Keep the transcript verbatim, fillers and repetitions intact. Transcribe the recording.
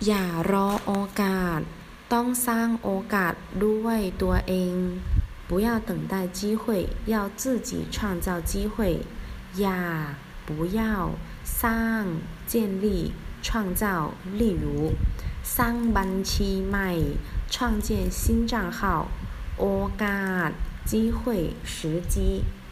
อย่ารอโอกาสต้องสร้างโอกาสด้วยตัวเอง不要等待机会要自己创造机会อย่า不要สร้าง建立创造例如สร้างบัญชีใหม่创建新账号โอกาส机会时机